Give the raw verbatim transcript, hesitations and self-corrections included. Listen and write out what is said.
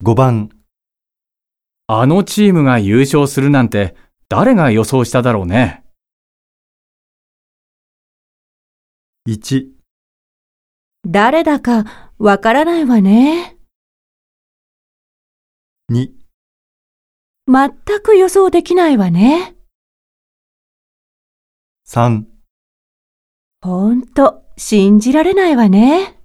ごばん、 あのチームが優勝するなんて誰が予想しただろうね。 いち、 誰だかわからないわね。 に、 全く予想できないわね。 さん、 ほんと、信じられないわね。